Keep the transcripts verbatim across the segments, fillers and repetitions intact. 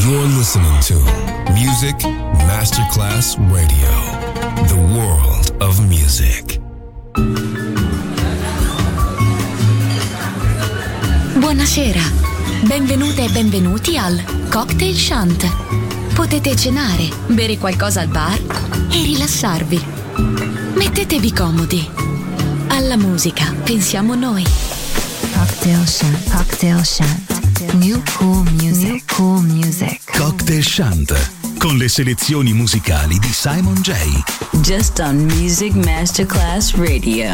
You're listening to Music Masterclass Radio, the world of music. Buonasera, benvenute e benvenuti al Cocktail Shant. Potete cenare, bere qualcosa al bar e rilassarvi. Mettetevi comodi. Alla musica pensiamo noi. Cocktail Shant, Cocktail Shant. New cool music, New cool music. Cocktail Shant, con le selezioni musicali di Simon J. Just on Music Masterclass Radio.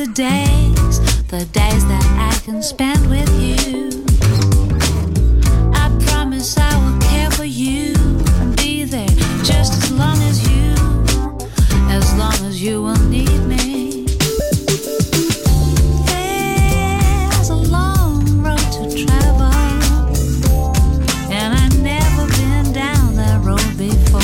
the days, the days that I can spend with you. I promise I will care for you and be there just as long as you, as long as you will need me. There's a long road to travel, and I've never been down that road before.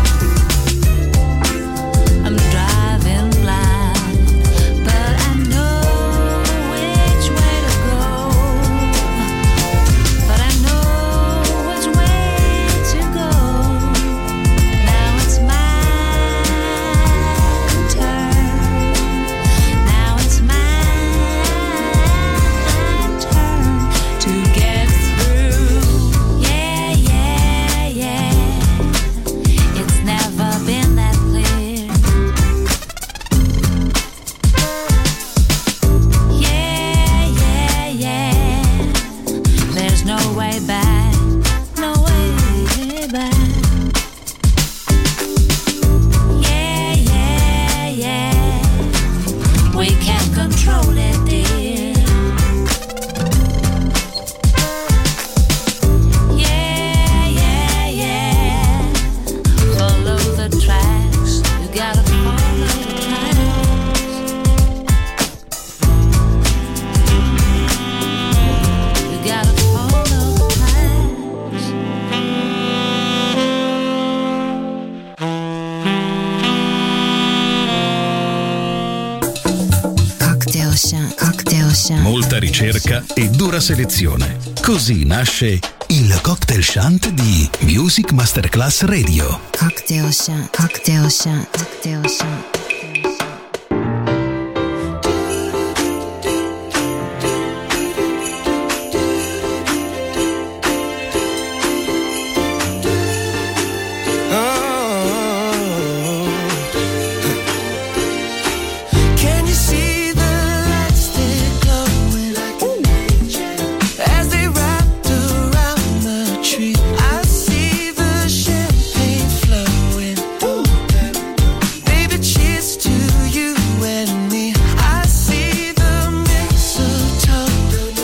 I'm driving blind, but I know which way to go. But I know which way to go. Now it's my turn. Now it's my turn to get through. Yeah, yeah, yeah. It's never been that clear. Yeah, yeah, yeah. There's no way back, no way back. Yeah, yeah, yeah. We can't control it, dear. Yeah, yeah, yeah. Follow the tracks. You gotta follow the tracks. You gotta follow the tracks. Cocktail Shant, Cocktail Shant. Molta ricerca e dura selezione. Così nasce il Cocktail Shant di Music Masterclass Radio. Cocktail Shant, Cocktail Shant, Cocktail Shant. Can you see the lights they're glowing as they wrapped around the tree? I see the champagne flowing. Baby, cheers to you and me. I see the mistletoe.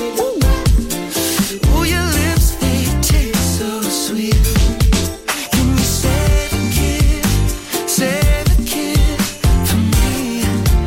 Ooh, your lips, they taste so sweet. Can you save a kid, save a kid for me?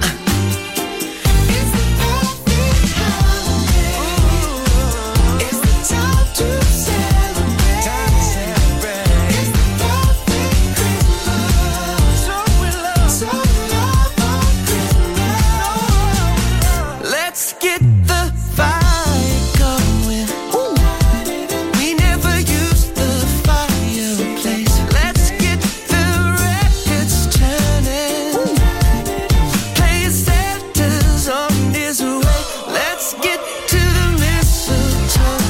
It's the perfect holiday. It's the time to celebrate. It's the perfect Christmas. So in love, so in love on Christmas. Let's get the fire going. We never used the fireplace. Let's get the records turning. Play Santa's on his way. Let's get to the mistletoe.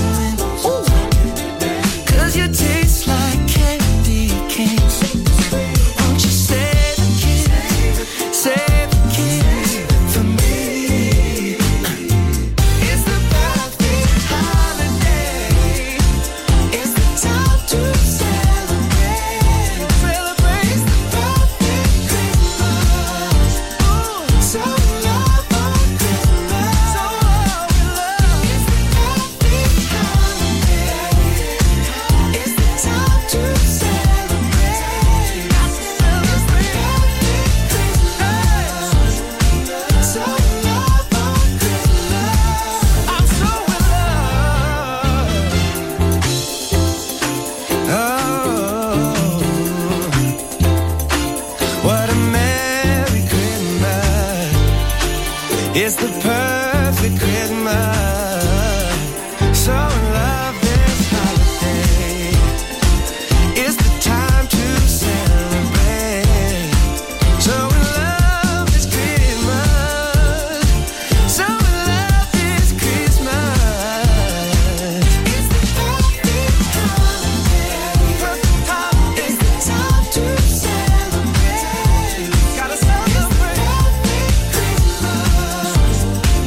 'Cause you taste like candy canes. Won't you save a kid, save a kid for me? It's the perfect holiday. It's the time to celebrate. Celebrate. It's the perfect Christmas. Ooh, so in love on Christmas. So in love. It's the perfect holiday. It's the time to celebrate. It's the perfect Christmas. So in love on Christmas. I'm so in love. Oh, what a merry Christmas. It's the perfect Christmas. So in love this holiday. It's the time to celebrate. So in love this Christmas. So in love this Christmas. It's the perfect holiday. Perfect holiday. It's the time to celebrate. Gotta celebrate. It's the perfect Christmas.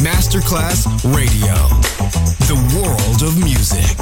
Masterclass Radio. The world of music.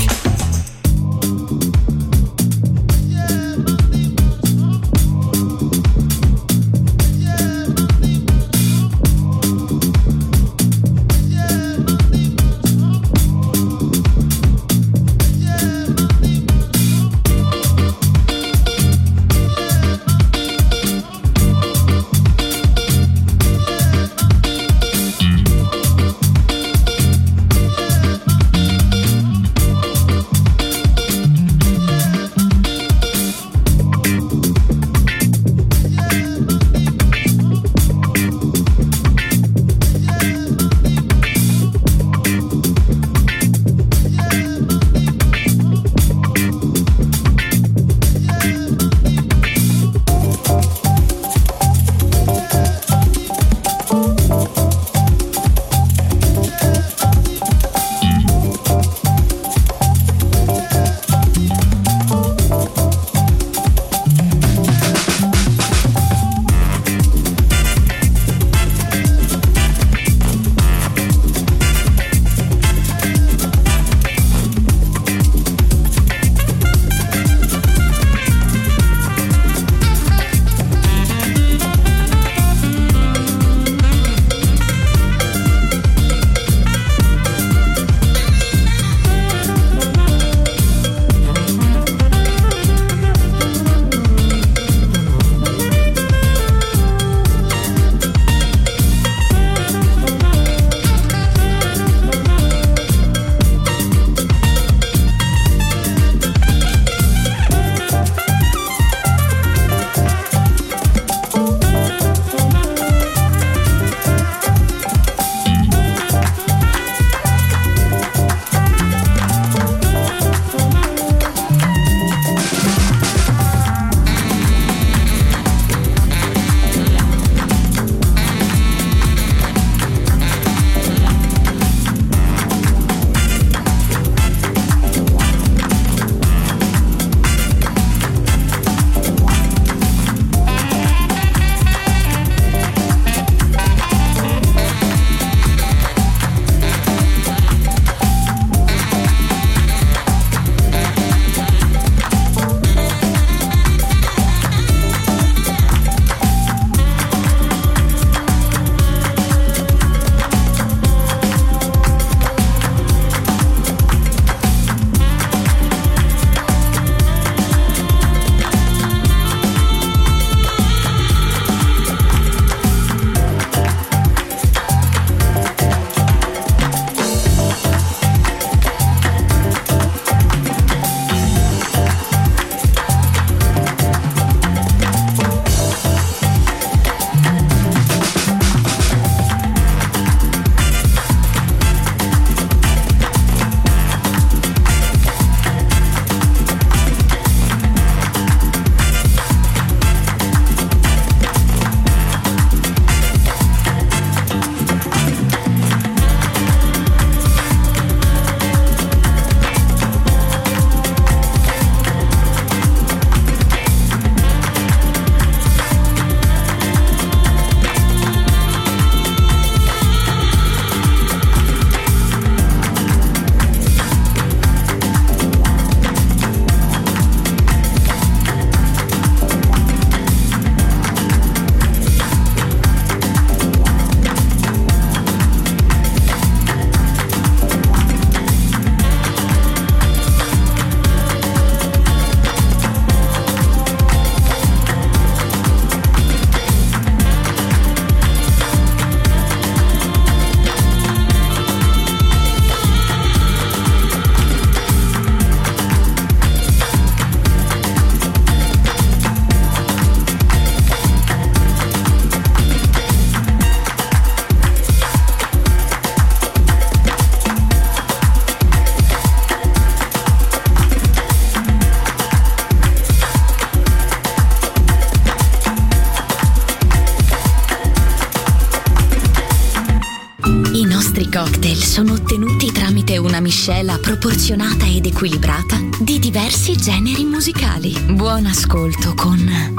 sono ottenuti tramite una miscela proporzionata ed equilibrata di diversi generi musicali. Buon ascolto con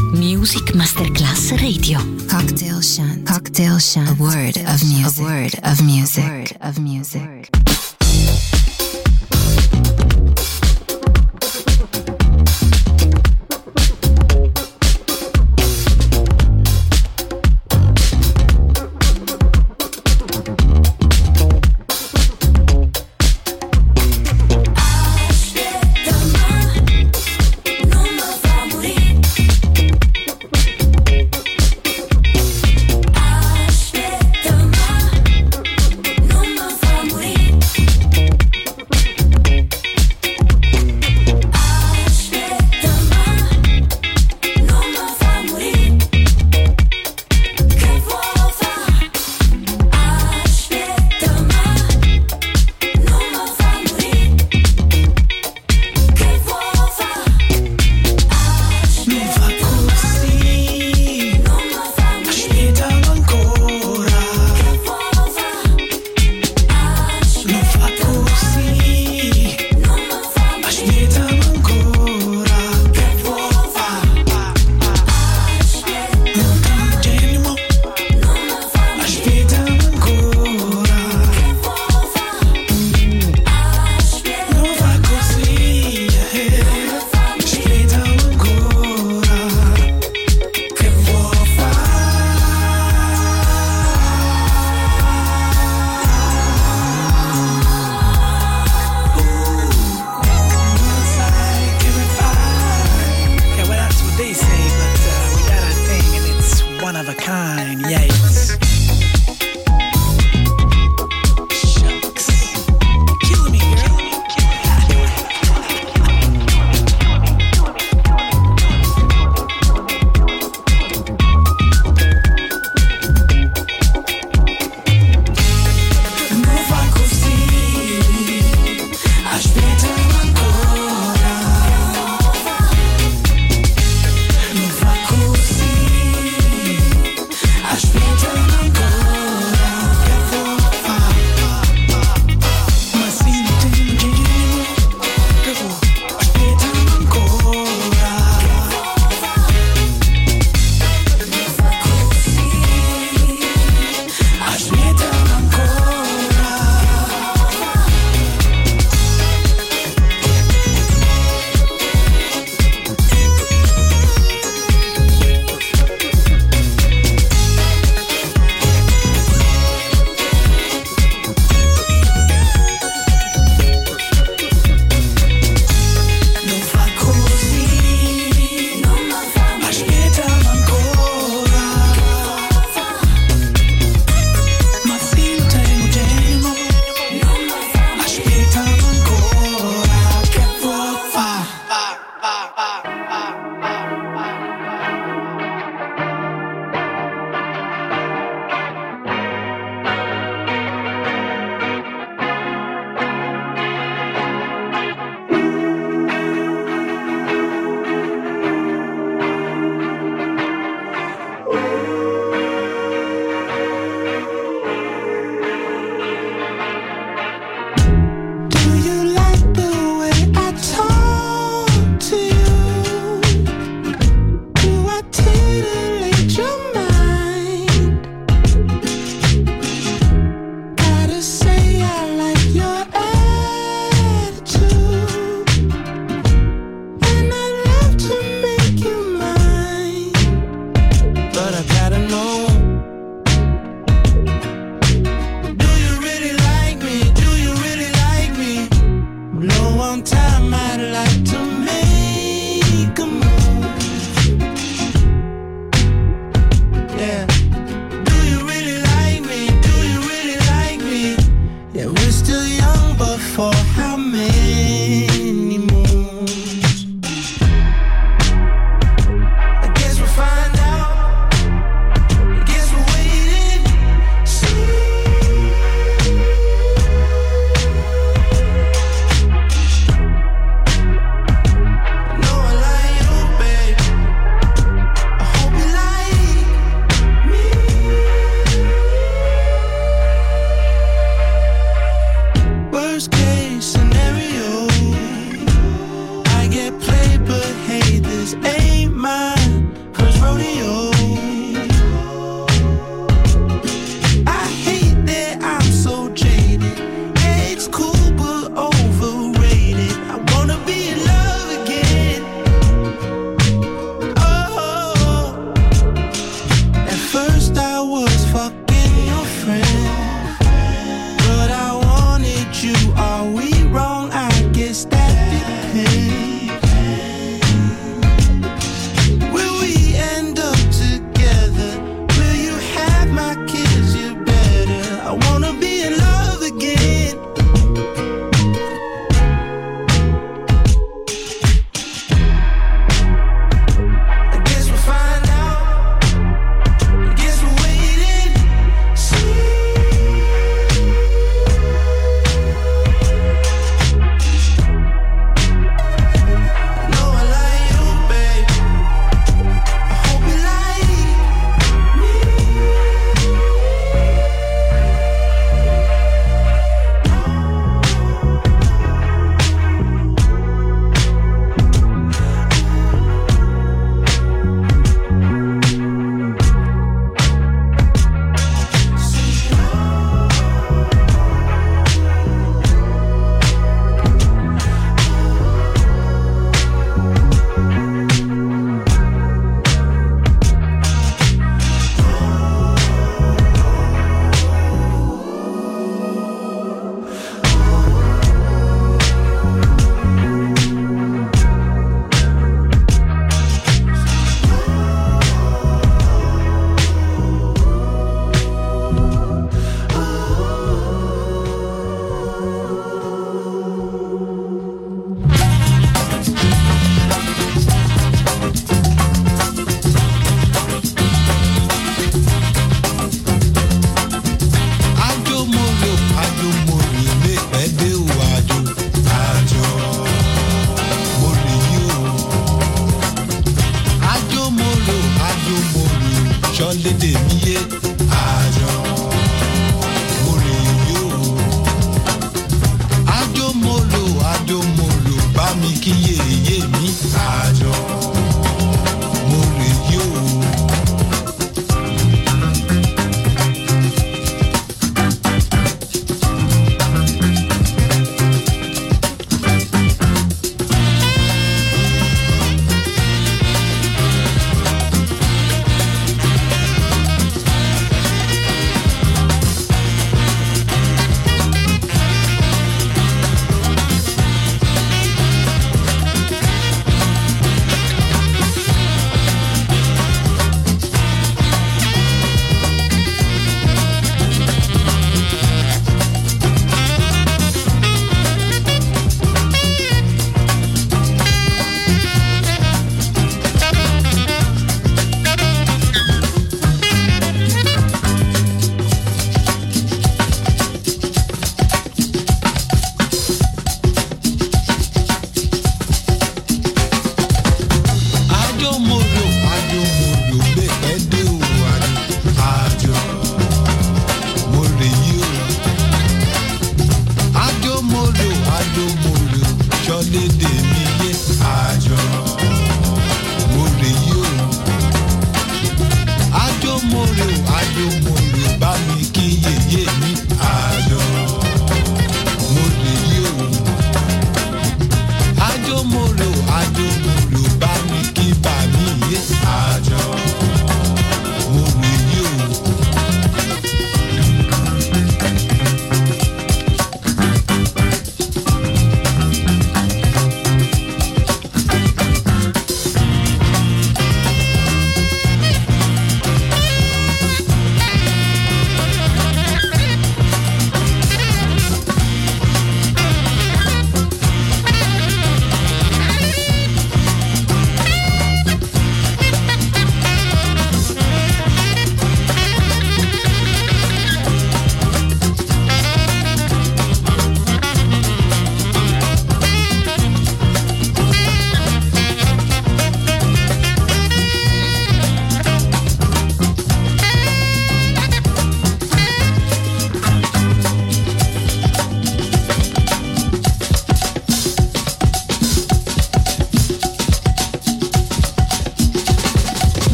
Music Masterclass Radio. Cocktail Shant. Cocktail Shant. A word of music. A word of music. A word of music. Yeah, we're still young, but you. Are we wrong? I guess that depends. Will we end up together? Will you have my kids? You better. I wanna be in love again. I guess we'll find out. I guess we'll wait and see. No, I like you, babe. I hope you like me. Ajo molo, ajo molo, me pede o ajo, ajo molo you. Ajo molo, ajo molo, ṣọlẹ tèmi yé, ajo molo you. Ajo molo, ajo molo, bá mi kí yèyé mi, ajo molo you.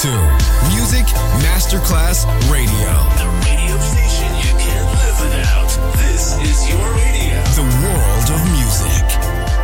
to Music Masterclass Radio. The radio station you can't live without. This is your radio. The world of music.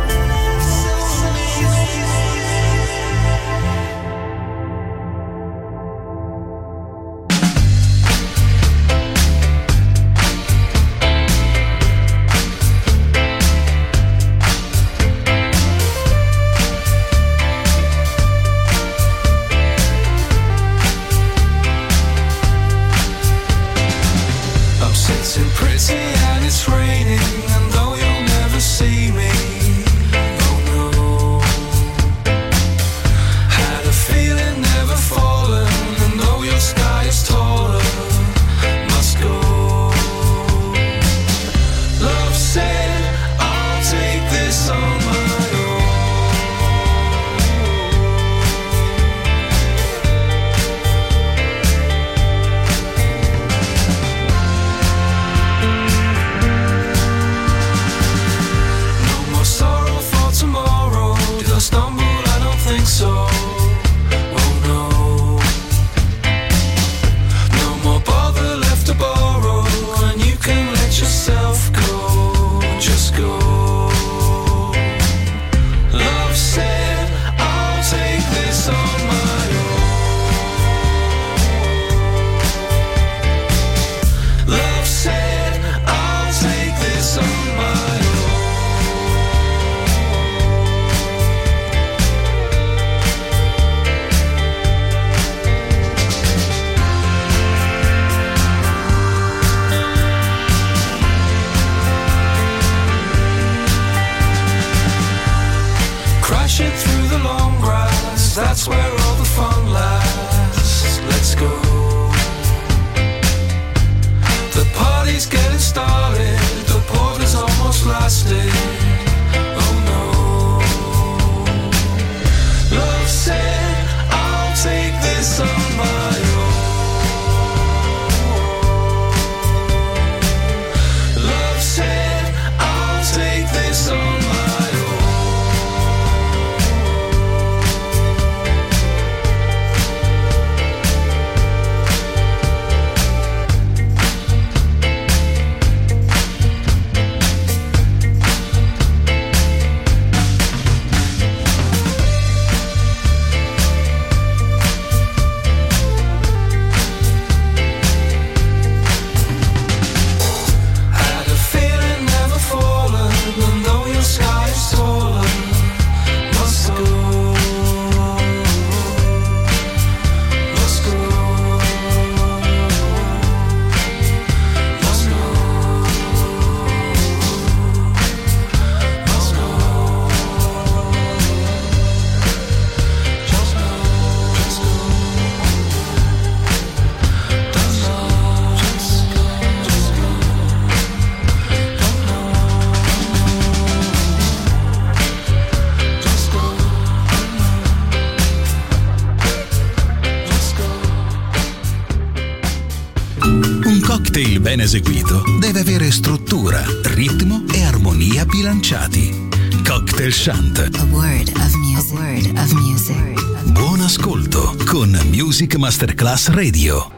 Ben eseguito deve avere struttura, ritmo e armonia bilanciati. Cocktail Shant. A word of music. A word of music. Buon ascolto con Music Masterclass Radio.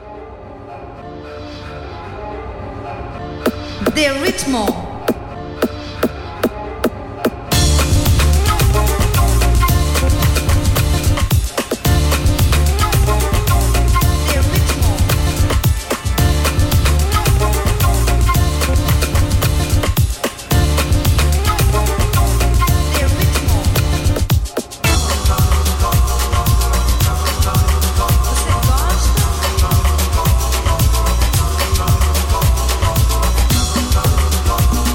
Del ritmo. Gosta?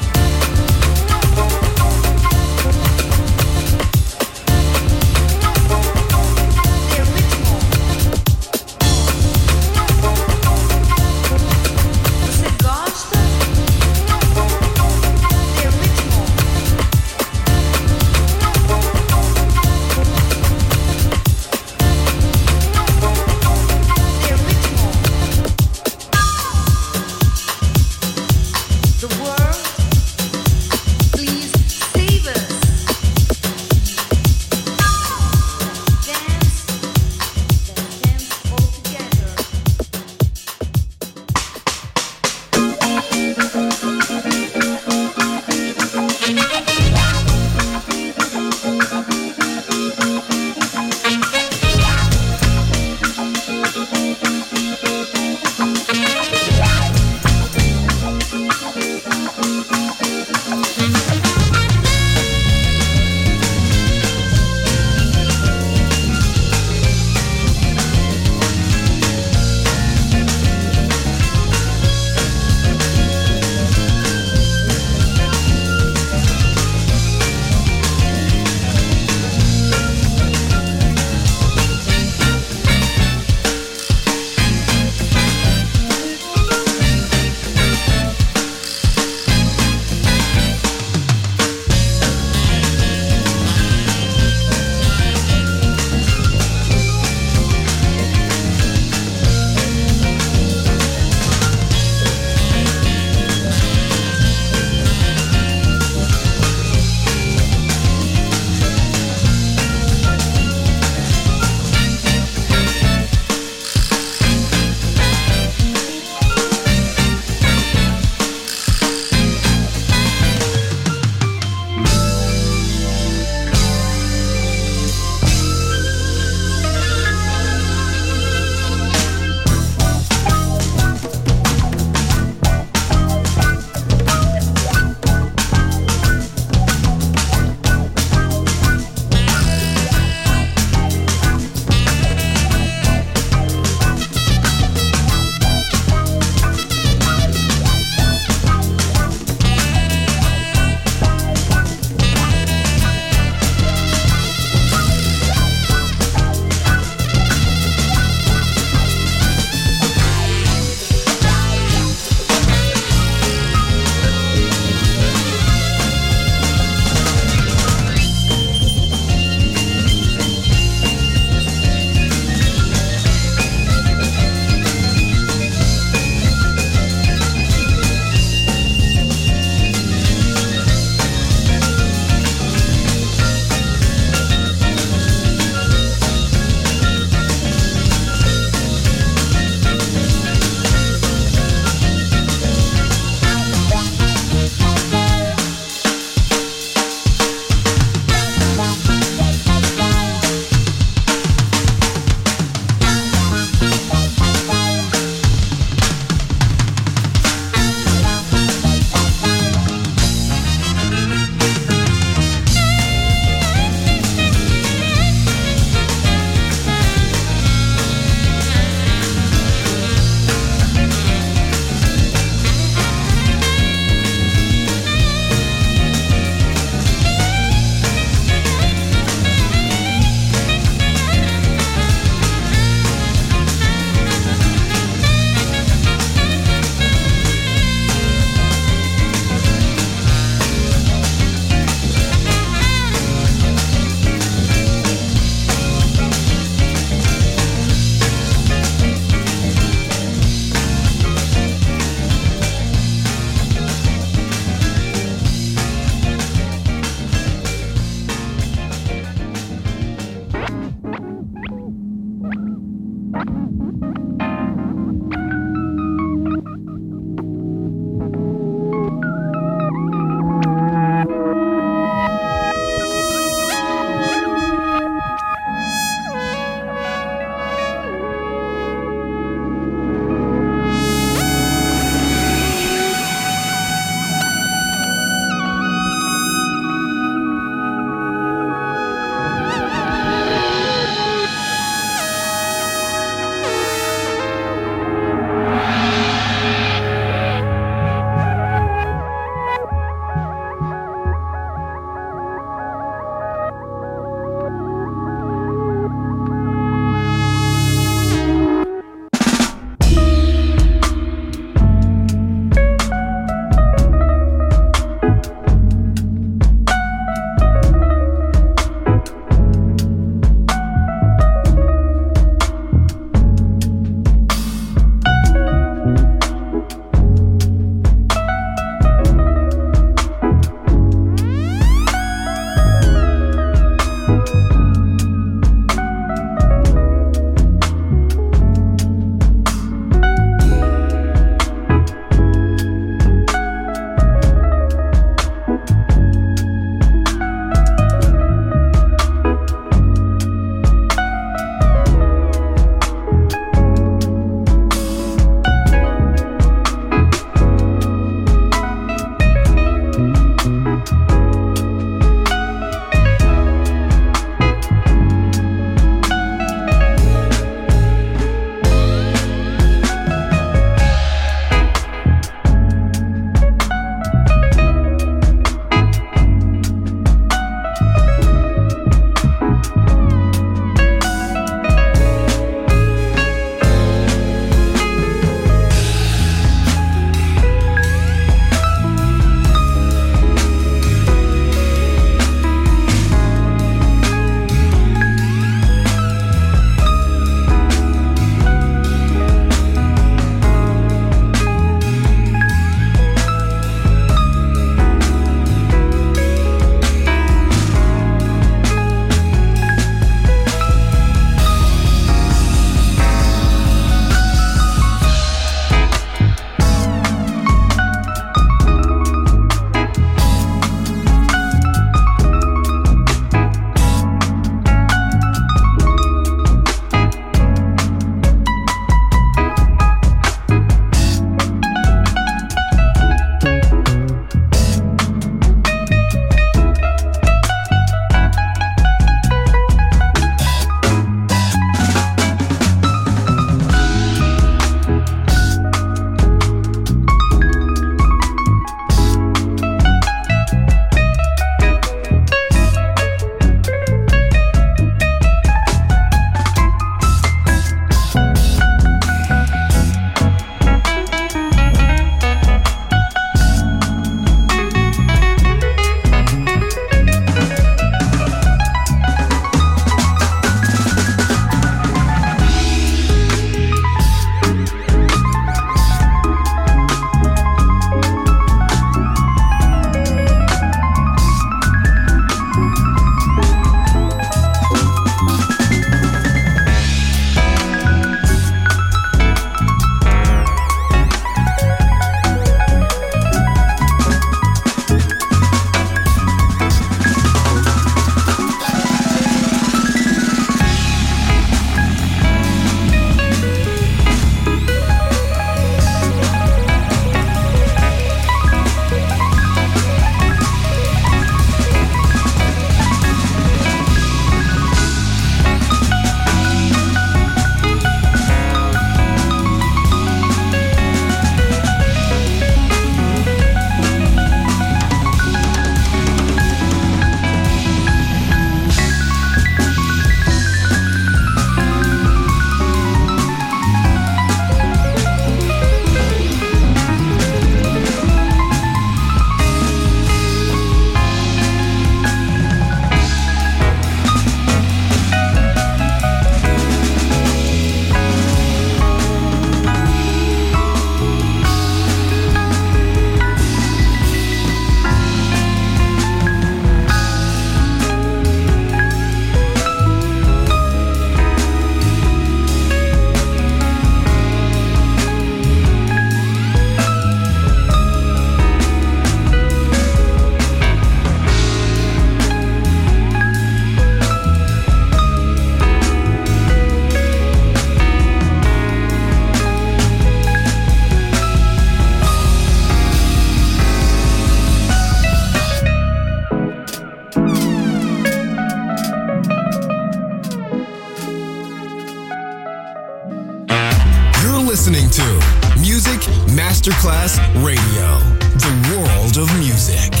listening to Music Masterclass Radio, the world of music.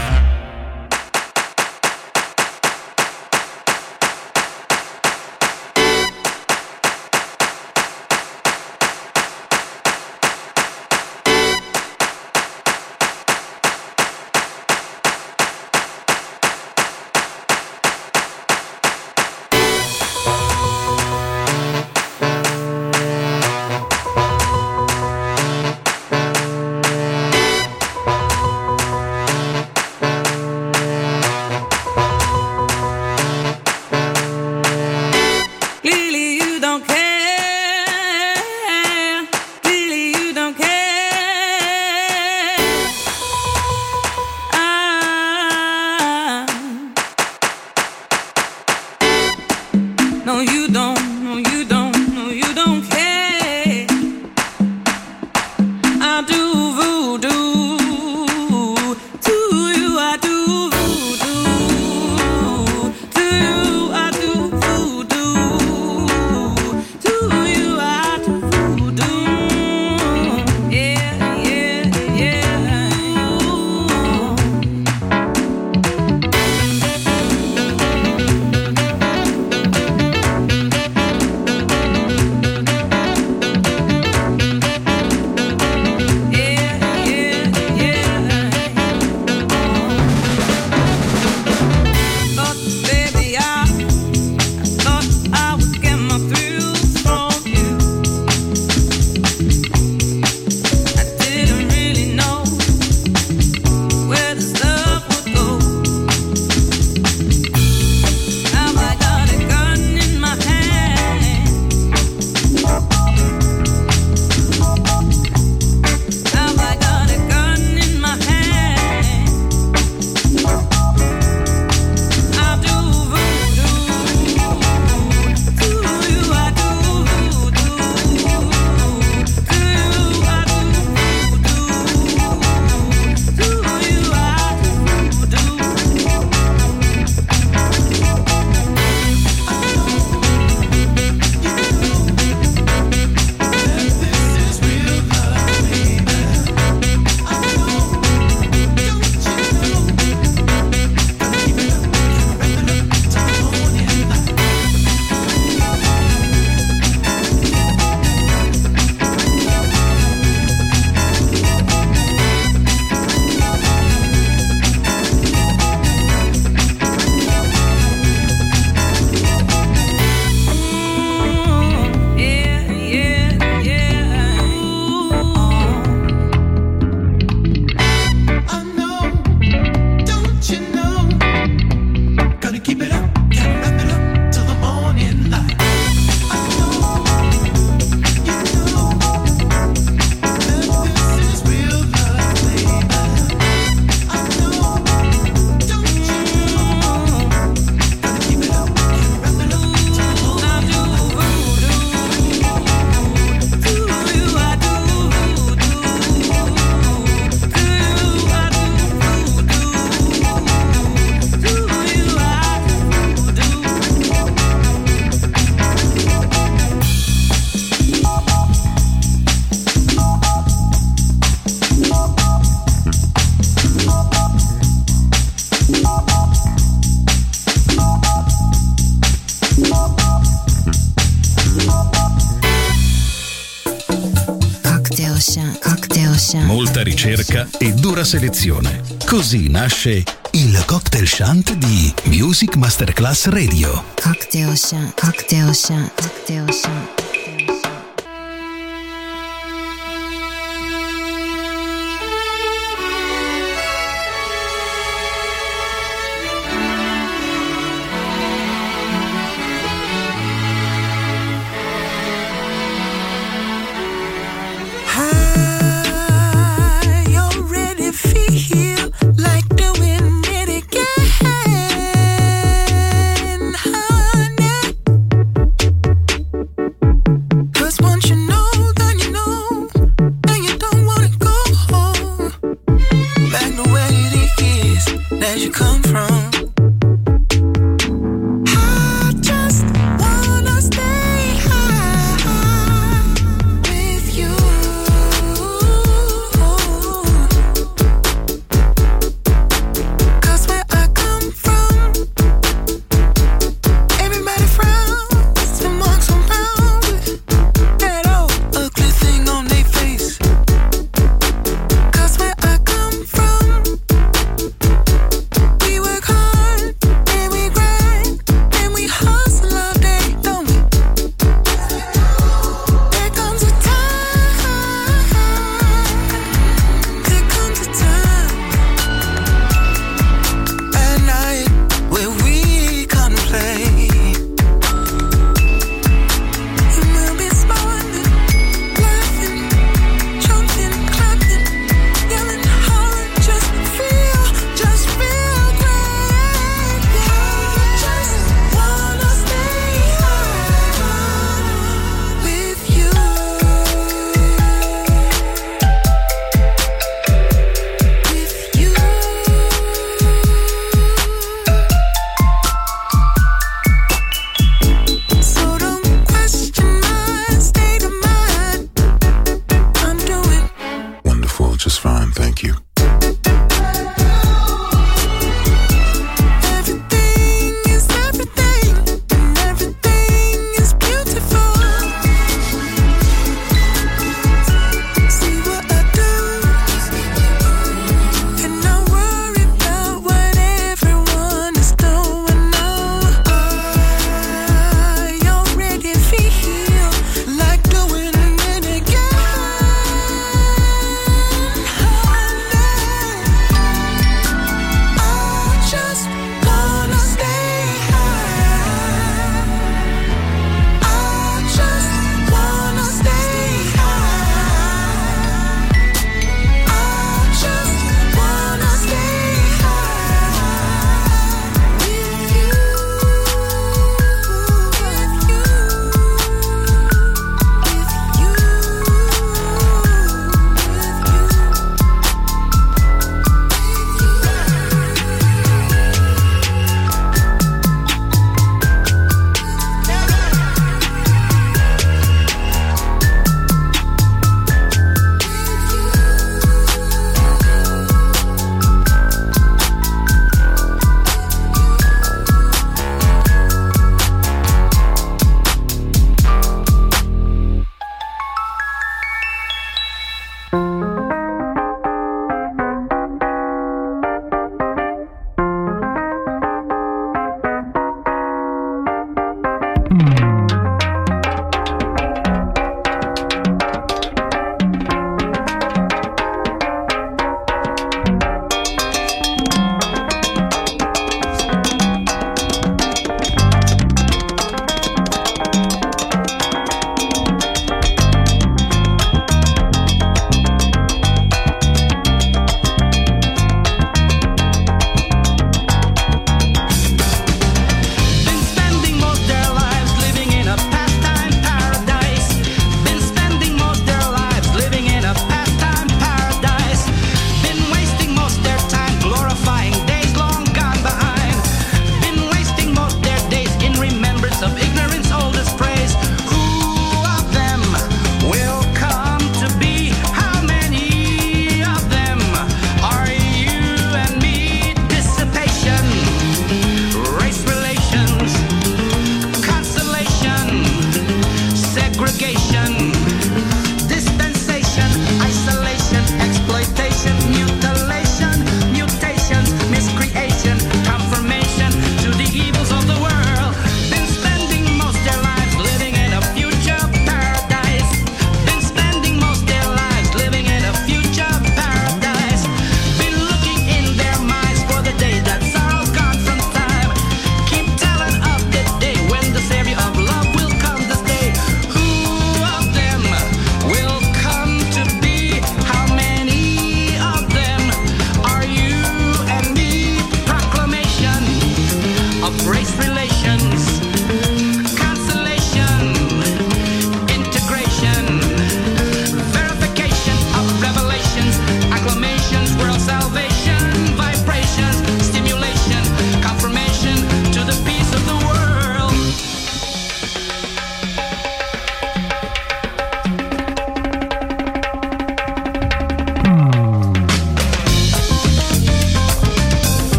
Molta ricerca e dura selezione. Così nasce il Cocktail Shant di Music Masterclass Radio. Cocktail Shant, Cocktail Shant, Cocktail Shant. Honey,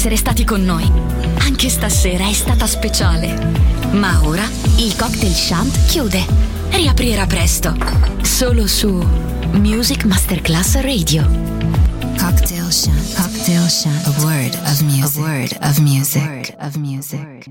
essere stati con noi. Anche stasera è stata speciale. Ma ora il Cocktail Shant chiude. Riaprirà presto. Solo su Music Masterclass Radio. Cocktail Shant. Cocktail Shant. A word of music. A word of music. A word of music.